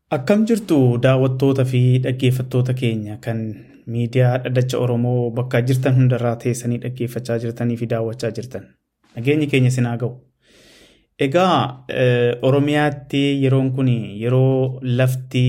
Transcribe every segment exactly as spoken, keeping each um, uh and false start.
Akkam jirtu daawwattoota fi dhaggeeffattoota keenya kan miidiyaa Dhaddacha Oromoo bakka jirtan hundarraa teessanii dhaggeeffachaa jirtanii fi daawwachaa jirtan. Nageenyi keenya isin haa ga'u. Egaa Oromiyaatti yeroon kun yeroo lafti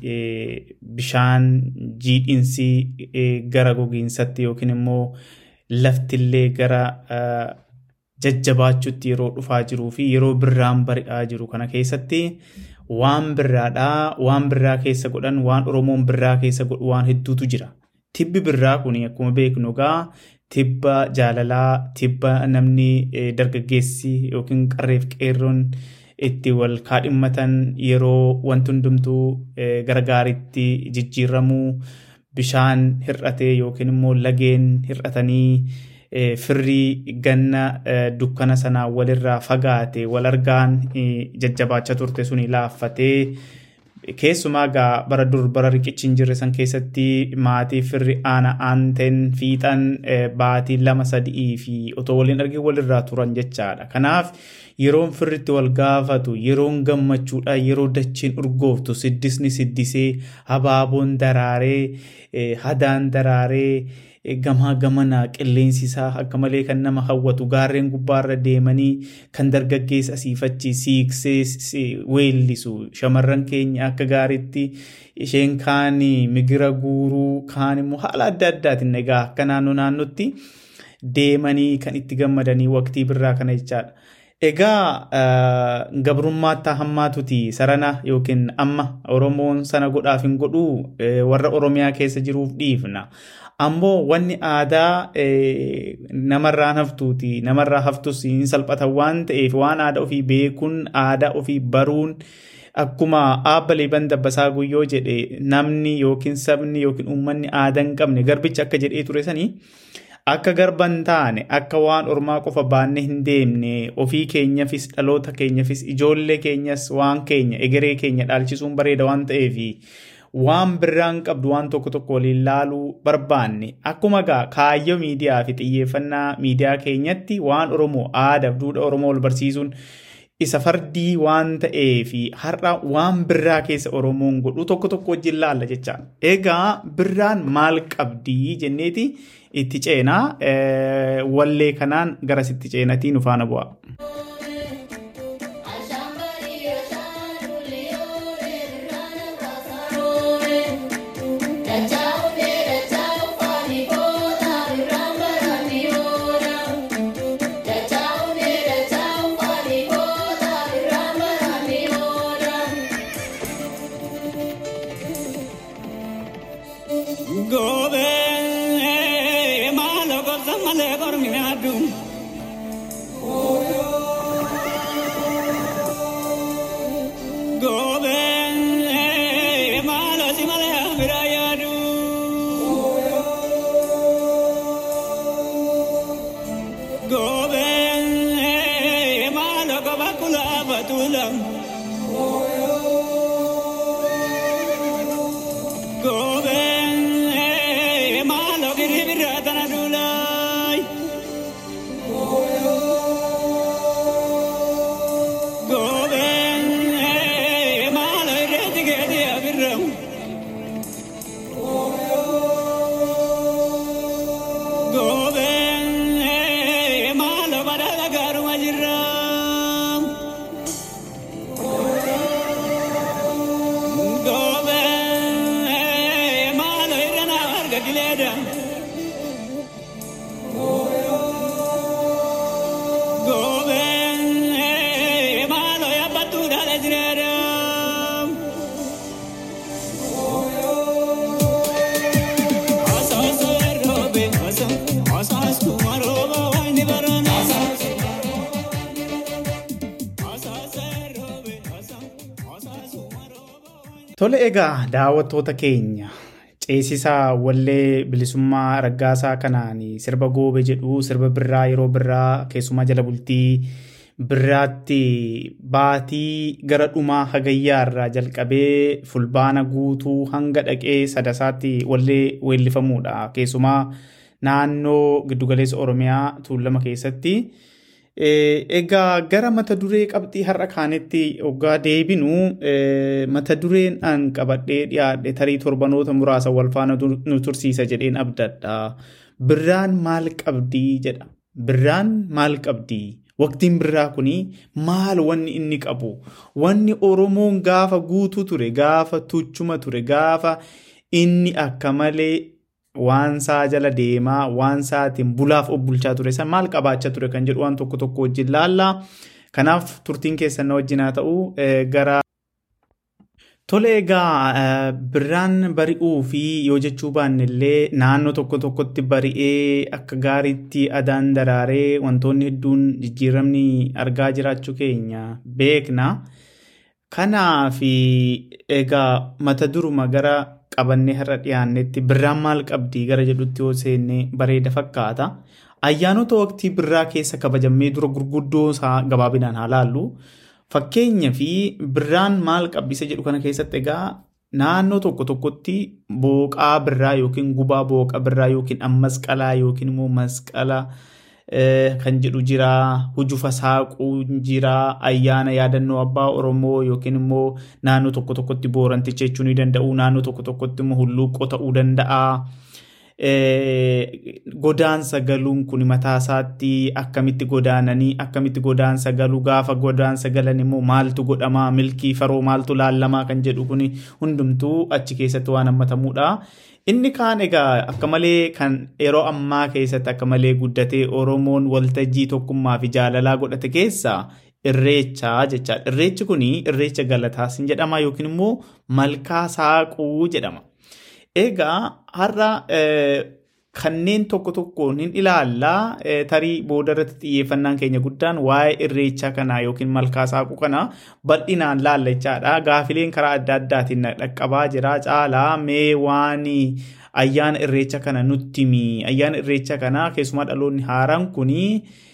bishaan jiidhinsi gara gogiinsatti yookiin immoo laftillee gara jajjabaachuutti yeroo dhufaa jiruu fi yeroo birraan bari'aa jiru kana keessatti waan birraadhaa waan birraa keessa godhan waan Oromoon birraa keessa godhu waan hedduutu jira. Tibbi birraa kun akkuma beeknu egaa tibba jaalalaa, tibba namni dargaggeessi yookiin qarreef qeerroon itti wal kaadhimmatan yeroo wanti hundumtuu gara gaariitti jijjiiramuu bishaan hir'atee yookiin immoo lageen hir'atanii firrii ganna dukkana sanaa walirraa fagaate wal argaan jajjabaachaa turte suni laaffatee keessumaa gaa bara dur bara riqichi hin jirre san keessatti maatii firri aana aanteen fiixan baatii lama sadii fi otoo waliin argee walirraa turan jechaadha. Kanaaf yeroon firritti wal gaafatu yeroon gammachuudha yeroo dachiin urgooftu siddisni siddisee habaaboon daraaree hadaan daraaree gamaa gamanaa qilleensi isaa akka malee kan nama hawwatu gaarreen gubbaarra deemanii kan dargaggeessa asiifachi siiksee weellisu shamarran keenya akka gaariitti isheen kaan migira guuruu kaan immoo haala adda addaatiin egaa akka naannoo naannootti deemanii kan itti gammadanii waqtii birraa kana jechaadha. Egaa gabrummaatti hammaatuti sarana yookiin amma Oromoon sana godhaaf hin godhuu warra Oromiyaa keessa jiruuf dhiifna. Ammoo wanni aadaa namarraan haftuuti namarraa haftus hin salphata waan ta'eef waan aadaa ofii beekuun aadaa ofii baruun akkuma aabbalee bandabbasaa guyyoo jedhe namni yookiin sabni yookiin uummanni aadaa hin qabne garbicha akka jedhee ture sanii akka garban taane akka waan ormaa qofa baanne hin deemne ofii keenyafis dhaloota keenyafis ijoollee keenyas waan keenya egeree keenya dhaalchisuun bareeda waan ta'eef waan birraan qabdu waan tokko tokko waliin laaluu barbaanne akkuma gaa kaayyoo miidiyaa fi xiyyeeffannaa miidiyaa keenyatti waan Oromoo aadaaf duudhaa Oromoo wal barsiisuun isa fardii waan ta'eef har'a waan birraa keessa Oromoon godhu tokko tokko wajjin laalla jecha. Egaa birraan maal qabdii jenneeti itti ceenaa wallee kanaan garas itti ceenatii nu faana bu'a. Tole egaa daawwattoota keenya ceesisaa wallee bilisummaa raggaasaa kanaan sirba goobe jedhu sirba birraa yeroo birraa keessumaa jala bultii birraatti baatii gara dhumaa hagayyaarraa jalqabee fulbaana guutuu hanga dhaqee sadasaatti wallee weellifamuudha. Keessumaa naannoo giddugaleessa Oromiyaa tuulama keessatti Egaa gara mata duree qabxii har'a kaanetti oggaa deebinu mata dureen an qabadhee dhiyaadhe tarii torbanoota muraasa wal faana nu tursiisa jedheen abdadha. Birraan maal qabdii jedha. Birraan maal qabdii? Waqtiin birraa kuni maal wanni inni qabu? Wanni Oromoon gaafa guutuu ture, gaafa tuchuma ture, gaafa inni akka malee waan saa jala deemaa, waan saatiin bulaaf obbulchaa ture san maal qabaachaa ture kan jedhu waan tokko tokko wajjin laallaa. Kanaaf turtiin keessan na wajjin haa ta'u gara tole egaa birraan bari'uu fi yoo jechuu baanne illee naannoo tokko tokkotti bari'ee akka gaariitti adaan daraaree wantoonni hedduun jijjiiramni argaa jiraachuu keenya beekna. Kanaaf egaa mata duruma gara qabannee har'a dhiyaannetti birraan maal qabdii gara jedhutti yoo seenne bareeda fakkaata. Ayyaanota waqtii birraa keessa kabajamee dura gurguddoo isaa gabaabinaan haa laallu. Fakkeenya fi birraan maal qabdisa jedhu kana keessatti egaa naannoo tokko tokkotti booqaa birraa yookiin gubaa booqa birraa yookiin masqalaa yookiin immoo masqala kan jedhu jira. Hujufa saaquu jira. Ayyaana yaadannoo abbaa Oromoo yookiin immoo naannoo tokko tokkotti booranticha jechuu ni danda'u. Naannoo tokko tokkotti immoo hulluuqqoo ta'uu danda'a. Godaansa galuun kun mataa isaatti akkamitti godaananii akkamitti godaansa galuu gaafa godaansa galan immoo maaltu godhamaa milkii faroo maaltu laallamaa kan jedhu kun hundumtuu achi keessatti waan hammatamuudha. Inni kaan egaa akka malee kan yeroo ammaa keessatti akka malee guddatee Oromoon waltajjii tokkummaa fi jaalalaa godhate keessaa irreecha jechaadha. Irreechi kun irreecha galataas hin jedhama yookiin immoo malkaa saaquu jedhama. Egaa har'a kanneen tokko tokkoon hin ilaallaa tarii boodarratti xiyyeeffannaan keenya guddaan waa'ee irreechaa kanaa yookiin malkaa saaquu kanaa bal'inaan laalla jechaadha. Gaafileen karaa adda addaatiin dhaqqabaa jira. Caalaa mee waan ayyaana irreecha kana nutti himi. Ayyaana irreecha kanaa keessumaa dhaloonni haaraan kuni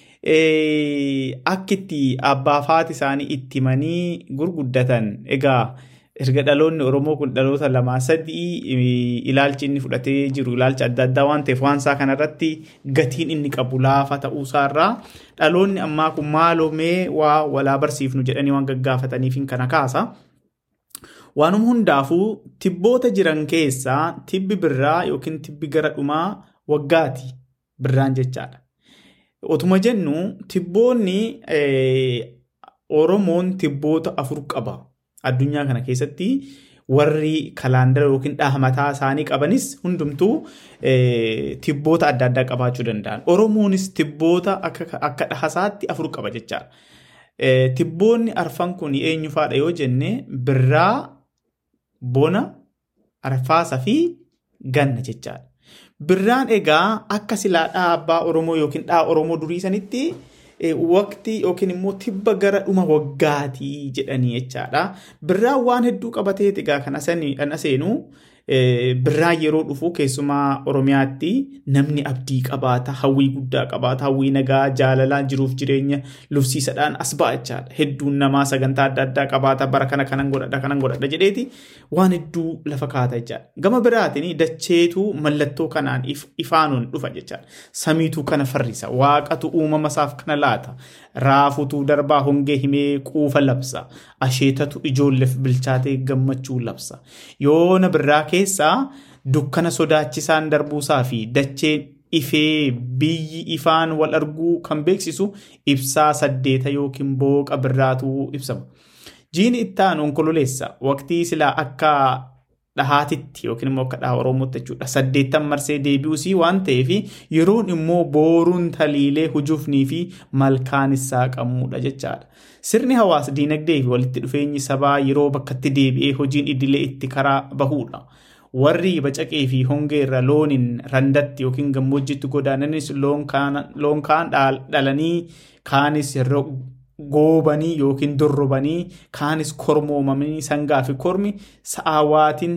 akkitti abbaa faati isaanii itti himanii gurguddatan. Egaa erga dhaloonni Oromoo kun dhaloota lamaa sadii ilaalchi inni fudhatee jiru ilaalcha adda addaa waan ta'eef waan isaa kanarratti gatiin inni qabu laafa ta'uu isaarraa dhaloonni ammaa kun maaloo mee waa walaa barsiifnu jedhanii waan gaggaafataniif kana kaasa. Waanuma hundaafuu tibboota jiran keessaa tibbi birraa yookiin tibbi gara dhumaa waggaati birraan jechaadha. Otuma jennu tibboonni Oromoon tibboota afur qaba. Addunyaa kana keessatti warri kalaandara yookiin dhaha mataa isaanii qabanis hundumtuu tibboota adda addaa qabaachuu danda'an. Oromoonis tibboota akka dhahasaatti afur qaba jechaadha. Tibboonni arfan kun eenyu faadha yoo jenne birraa, bona, arfaasaa fi ganna jechaadha. Birraan egaa akka silaa dhaha abbaa Oromoo yookiin dhaha Oromoo durii sanitti waqtii yookiin immoo tibba gara dhuma waggaatii jedhanii jechaadha. Birraan waan hedduu qabatee egaa kan aseenu birraan yeroo dhufu keessumaa Oromiyaatti namni abdii qabaata, hawwii guddaa qabaata, hawwii nagaa, jaalalaa, jiruuf jireenya lufsiisadhaan as ba'a jechaadha. Hedduun namaa sagantaa adda addaa qabaata. Bara kana kanan godhadha kanan godhadha jedheeti waan hedduu lafa kaata jechaadha. Gama biraatiin dacheetu mallattoo kanaan ifaanuun dhufa jechaadha. Samiitu kana farrisa. Waaqatu uumama isaaf kana laata. Raafutu darbaa hongee himee quufa labsa. Asheetatu ijoolleef bilchaatee gammachuu labsa. Yoona birraa keessaa dukkana sodaachisaan darbuusaa fi dacheen ifee biyyi ifaan wal arguu kan beeksisu ibsaa saddeeta yookiin booqa birraatu ibsama. Jiini ittaan onkololeessa waqtii silaa akka dhahaatitti yookiin immoo akka dhaha Oromootti jechuudha. Saddeettan marsee deebi'uusii waan ta'eef yeroon immoo booruun taliilee hujuufnii fi malkaan isaa qamuudha jechaadha. Sirni hawaasa diinagdee fi walitti dhufeenyi sabaa yeroo bakkatti deebi'ee hojiin idilee itti karaa bahuudha. Warri bacaqee fi hongee irra looniin randatti yookiin gammoojjitti godaananis loon kaan dhalanii kaanis goobanii yookiin dorrobanii kaanis kormoomamanii sangaa fi kormi sa'aawaatiin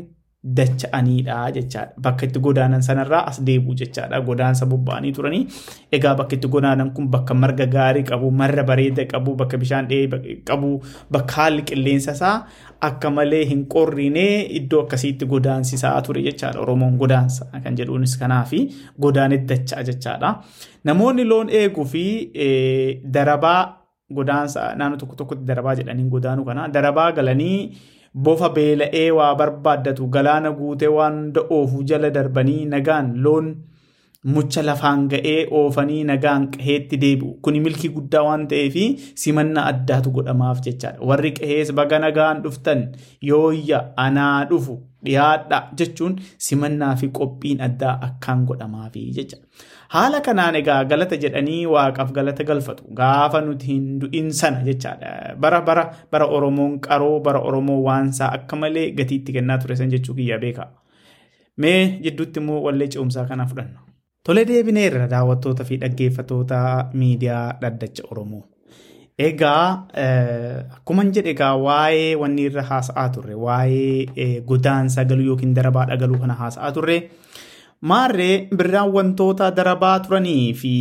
dacha'aniidha jechaadha. Bakka itti godaanan sanarraa as deebi'u jechaadha. Godaansa bobba'anii turanii. Egaa bakka itti godaanan kun bakka marga gaarii qabu, marra bareeda qabu, bakka bishaan dhahee qabu, bakka haalli qilleensa isaa akka malee hin qorrine iddoo akkasiitti godaansisaa ture jechaadha. Oromoon godaansa kan jedhuunis kanaafi godaanetti dacha'a jechaadha. Namoonni loon eeguu fi darabaa godaansa naannoo tokko tokkotti darabaa jedhanii godaanuu kana darabaa galanii bofa beela'ee waa barbaaddatu galaana guutee waan da'oofu jala darbanii nagaan loon mucha lafaan ga'ee oofanii nagaan qaheetti deebi'u. Kuni milkii guddaa waan ta'eef simannaa addaatu godhamaaf jechaadha. Warri qahees baga nagaan dhuftan yooyya anaa dhufu dhiyaadha jechuun simannaa fi qophiin addaa akkaan godhamaafi jechaadha. Haala kanaan egaa galata jedhanii waaqaaf galata galfatu gaafa nuti hin du'in sana jechaadha. Bara bara bara Oromoon qaroo bara Oromoo waansaa akka malee gatiitti kennaa ture san jechuu kiyya beeka. Mee jidduutti immoo wallee ce'umsaa kana fudhanna. Tole deebineerra daawwattoota fi dhaggeeffattoota miidiyaa Dhaddacha Oromoo. Egaa akkuma jedhe egaa waa'ee wanni irra haasa'aa turre waa'ee godaansa galuu yookiin darabaa dhagaluu kana haasa'aa turre. Maarree birraan wantoota darabaa turanii fi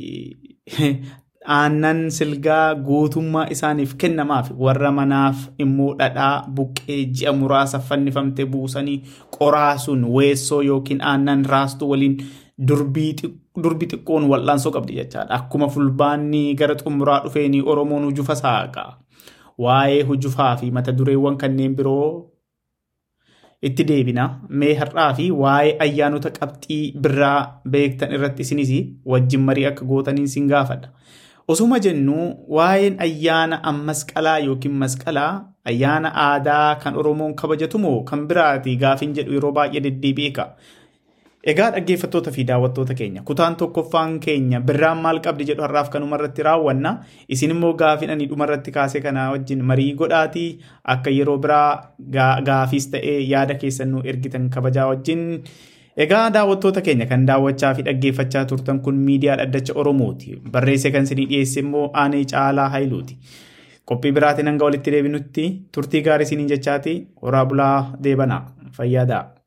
aannan silgaa guutummaa isaaniif kennamaaf warra manaaf immoo dhadhaa buqqee ji'a muraasa fannifamte buusanii qoraasuun weessoo yookiin aannan raastu waliin durbii xiqqoon wal'aansoo qabdi jechaadha. Akkuma fulbaanni gara xumuraa dhufeenii Oromoon hujufa saaqa. Waa'ee hujufaa fi mata dureewwan kanneen biroo itti deebina. Mee har'aa fi waa'ee ayyaanota qabxii birraa beektan irratti isinis wajjin marii akka gootaniin sin gaafadha. Osuma jennu waa'een ayyaana masqalaa yookiin masqalaa ayyaana aadaa kan Oromoon kabajatu moo kan biraati gaafin jedhu yeroo baay'ee deddeebi'eeka. Egaa dhaggeeffattoota fi daawwattoota keenya kutaan tokkoffaan keenya birraan maal qabdi jedhu har'aaf kanuma irratti raawwanna. Isin immoo gaafin ani dhuma irratti kaasee kana wajjin marii godhaatii akka yeroo biraa gaafiis ta'ee yaada keessan nu ergitan kabajaa wajjin. Egaa daawwattoota keenya kan daawwachaa fi dhaggeeffachaa turtan kun miidiyaa Dhaddacha Oromooti. Barreessee kan isinii dhiyeesse immoo Aanee Caalaa Haayiluuti. Qophii biraatiin hanga walitti deebinutti turtii gaarii isiniin jechaati. Horaa bulaa deebanaa fayyaadaa.